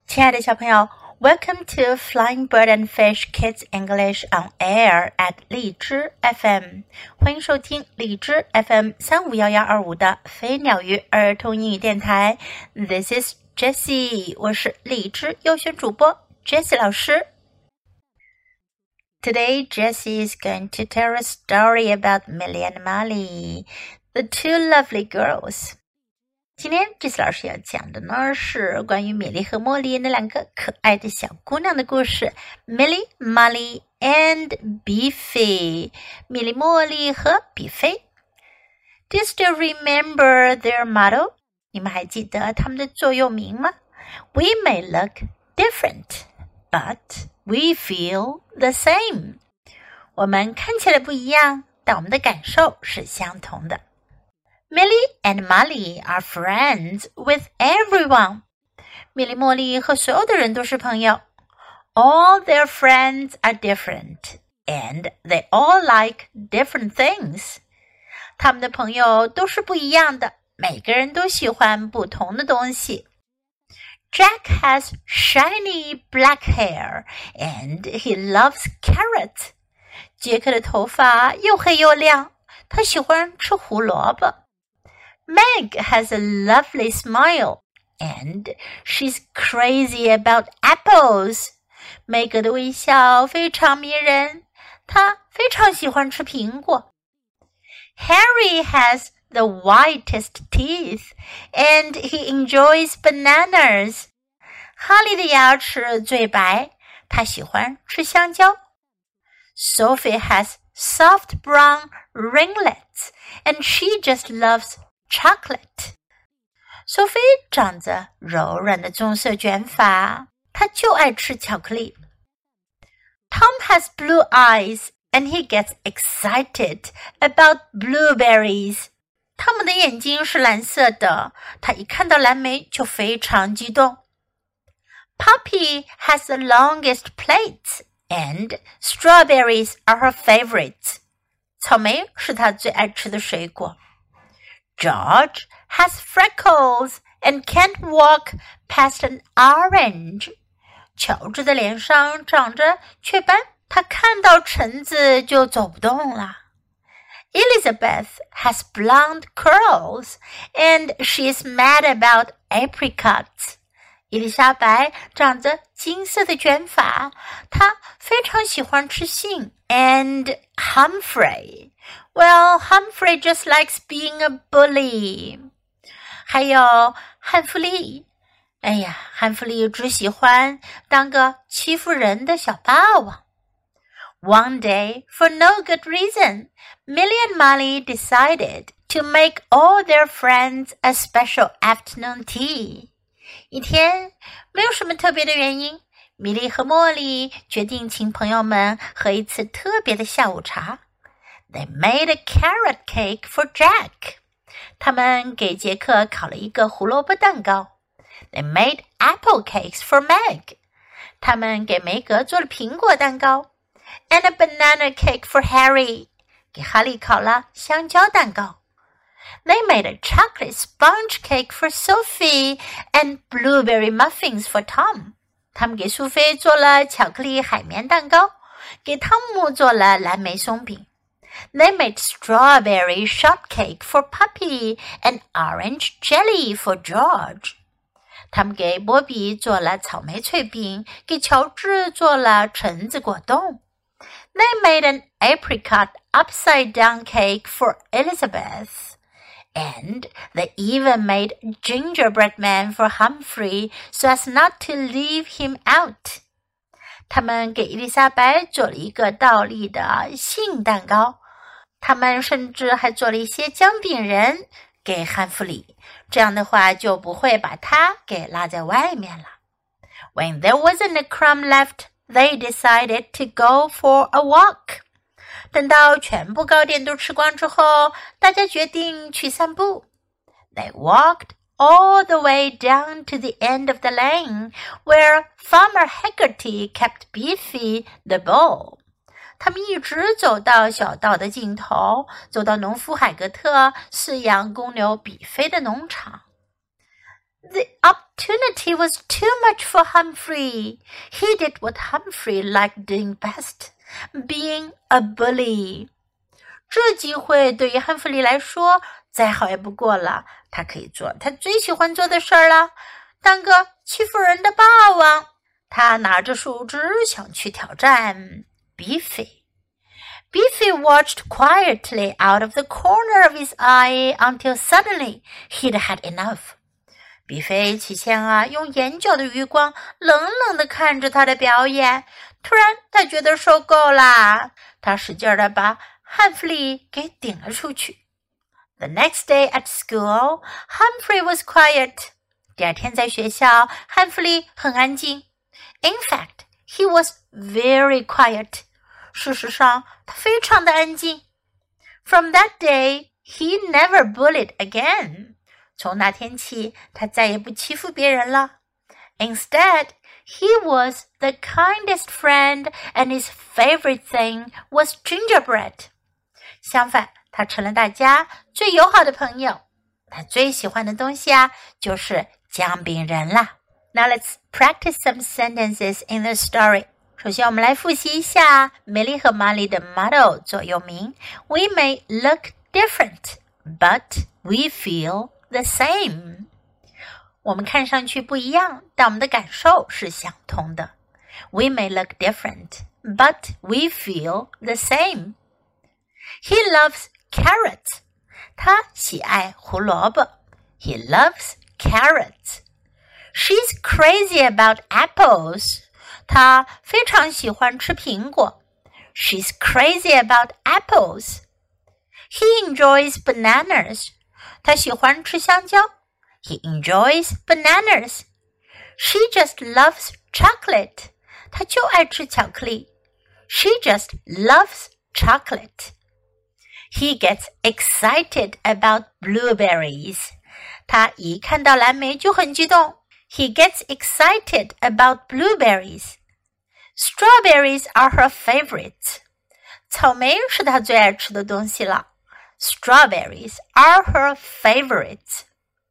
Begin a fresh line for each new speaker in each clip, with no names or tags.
亲爱的小朋友 Welcome to Flying Bird and Fish Kids English on Air at 荔枝 FM 欢迎收听荔枝 FM 3511125的飞鸟鱼儿童英语电台 This is Jessie 我是荔枝优选主播 Jessie 老师Today Jessie is going to tell a story about Millie and Molly the two lovely girls今天这次老师要讲的呢是关于米莉和茉莉那两个可爱的小姑娘的故事 Millie, Molly and Beefy 米莉、茉莉和比菲 Do you still remember their motto? 你们还记得他们的座右铭吗 We may look different, but we feel the same 我们看起来不一样，但我们的感受是相同的Millie and Molly are friends with everyone. 米莉、茉莉和所有的人都是朋友。All their friends are different, and they all like different things. 他们的朋友都是不一样的，每个人都喜欢不同的东西。Jack has shiny black hair, and he loves carrots. 杰克的头发又黑又亮，他喜欢吃胡萝卜。Meg has a lovely smile, and she's crazy about apples. 梅格的微笑非常迷人，她非常喜欢吃苹果。Harry has the whitest teeth, and he enjoys bananas. 哈利的牙齿最白，他喜欢吃香蕉。Sophie has soft brown ringlets, and she just loves chocolate. Sophie 长着柔软的棕色卷发，她就爱吃巧克力。Tom has blue eyes and he gets excited about blueberries. 汤姆的眼睛是蓝色的，他一看到蓝莓就非常激动。Poppy has the longest plates and strawberries are her favorites. 草莓是她最爱吃的水果。George has freckles and can't walk past an orange. 乔治的脸上长着雀斑，他看到橙子就走不动了。Elizabeth has blonde curls and she is mad about apricots. 伊丽莎白长着金色的卷发，她非常喜欢吃杏。And Humphrey.Well, Humphrey just likes being a bully. 还有汉弗利，哎呀，汉弗利只喜欢当个欺负人的小霸王。One day, for no good reason, Millie and Molly decided to make all their friends a special afternoon tea. 一天，没有什么特别的原因，米莉和茉莉决定请朋友们喝一次特别的下午茶。They made a carrot cake for Jack. 他们给杰克烤了一个胡萝卜蛋糕。They made apple cakes for Meg. 他们给梅格做了苹果蛋糕。And a banana cake for Harry. 给哈利烤了香蕉蛋糕。They made a chocolate sponge cake for Sophie and blueberry muffins for Tom. 他们给苏菲做了巧克力海绵蛋糕，给汤姆做了蓝莓松饼。They made strawberry shortcake for Poppy and orange jelly for George. 他们给波比做了草莓脆饼，给乔治做了橙子果冻。They made an apricot upside-down cake for Elizabeth. And they even made a gingerbread man for Humphrey so as not to leave him out. 他们给伊丽莎白做了一个倒立的杏蛋糕，他们甚至还做了一些姜饼人给汉弗里，这样的话就不会把他给拉在外面了。When there wasn't a crumb left, they decided to go for a walk. 等到全部糕点都吃光之后，大家决定去散步。They walked all the way down to the end of the lane where Farmer Haggerty kept Beefy the bull. 他们一直走到小道的尽头，走到农夫海格特饲养公牛比菲的农场。The opportunity was too much for Humphrey. He did what Humphrey liked doing best, being a bully. 这机会对于汉弗利来说再好也不过了，他可以做他最喜欢做的事儿了，当个欺负人的霸王。他拿着树枝想去挑战 Beefy。Beefy watched quietly out of the corner of his eye until suddenly he'd had enough. 比菲起先用眼角的余光冷冷地看着他的表演，突然他觉得受够啦，他使劲地把汉弗利给顶了出去。The next day at school, Humphrey was quiet. 第二天在学校，汉弗利很安静。In fact, he was very quiet. 事实上，他非常的安静。From that day, he never bullied again. 从那天起，他再也不欺负别人了。Instead, he was the kindest friend, and his favorite thing was gingerbread. 相反，他成了大家最友好的朋友。他最喜欢的东西就是姜饼人啦。Now let's practice some sentences in the story. 首先我们来复习一下梅丽和玛丽的 motto 座右铭 We may look different, but we feel the same. 我们看上去不一样，但我们的感受是相同的。We may look different, but we feel the same. He loves carrots. 他喜爱胡萝卜。He loves carrots.She's crazy about apples. 她非常喜欢吃苹果。She's crazy about apples. He enjoys bananas. 他喜欢吃香蕉。He enjoys bananas. She just loves chocolate. 她就爱吃巧克力。She just loves chocolate. He gets excited about blueberries. 他一看到蓝莓就很激动。He gets excited about blueberries. Strawberries are her favorites. 草莓是她最爱吃的东西了。Strawberries are her favorites.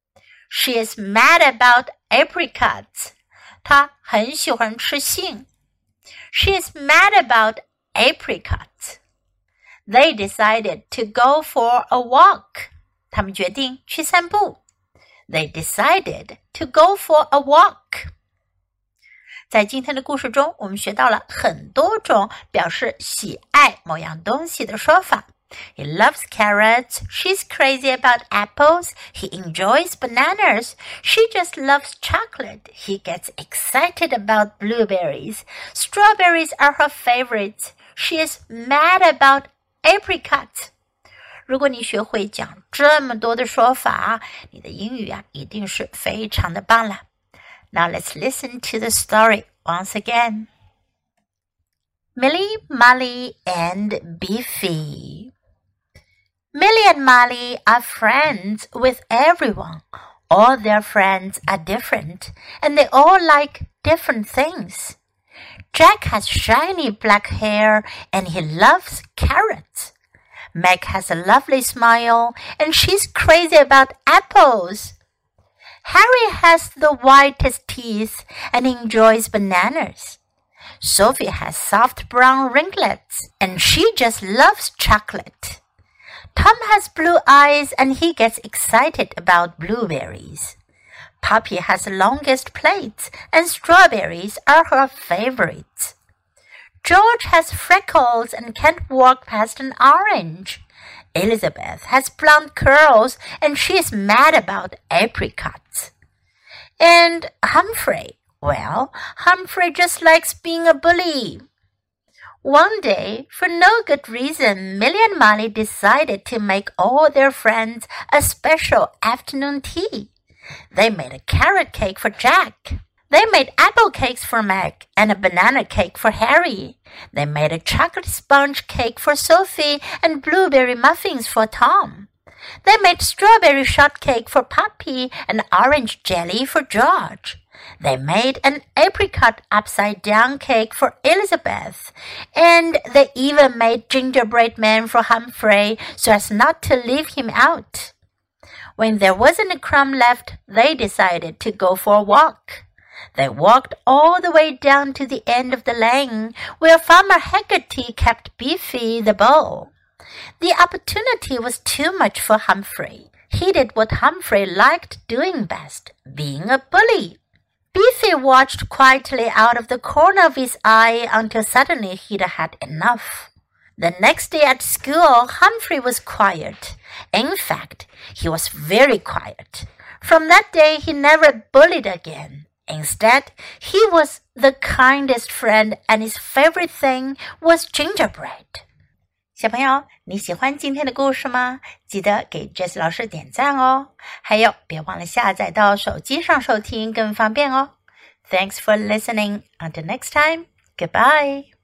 She is mad about apricots. 她很喜欢吃杏。She is mad about apricots. They decided to go for a walk. 他们决定去散步。They decided to go for a walk. 在今天的故事中，我们学到了很多种表示喜爱某样东西的说法。He loves carrots. She's crazy about apples. He enjoys bananas. She just loves chocolate. He gets excited about blueberries. Strawberries are her favorites. She is mad about apricots.如果你学会讲这么多的说法，你的英语一定是非常的棒啦。Now let's listen to the story once again. Millie, Molly, and Beefy. Millie and Molly are friends with everyone. All their friends are different, and they all like different things. Jack has shiny black hair, and he loves carrots.Meg has a lovely smile, and she's crazy about apples. Harry has the whitest teeth and enjoys bananas. Sophie has soft brown ringlets, and she just loves chocolate. Tom has blue eyes, and he gets excited about blueberries. Poppy has the longest plaits, and strawberries are her favorites.George has freckles and can't walk past an orange. Elizabeth has blonde curls and she is mad about apricots. And Humphrey, well, Humphrey just likes being a bully. One day, for no good reason, Millie and Molly decided to make all their friends a special afternoon tea. They made a carrot cake for Jack.They made apple cakes for Meg and a banana cake for Harry. They made a chocolate sponge cake for Sophie and blueberry muffins for Tom. They made strawberry shortcake for Poppy and orange jelly for George. They made an apricot upside-down cake for Elizabeth. And they even made gingerbread man for Humphrey so as not to leave him out. When there wasn't a crumb left, they decided to go for a walk.They walked all the way down to the end of the lane, where Farmer Haggerty kept Beefy the bull. The opportunity was too much for Humphrey. He did what Humphrey liked doing best, being a bully. Beefy watched quietly out of the corner of his eye until suddenly he'd had enough. The next day at school, Humphrey was quiet. In fact, he was very quiet. From that day, he never bullied again.Instead, he was the kindest friend, and his favorite thing was gingerbread. 小朋友，你喜欢今天的故事吗？记得给 Jessie 老师点赞哦。还有，别忘了下载到手机上收听，更方便哦。Thanks for listening. Until next time, goodbye.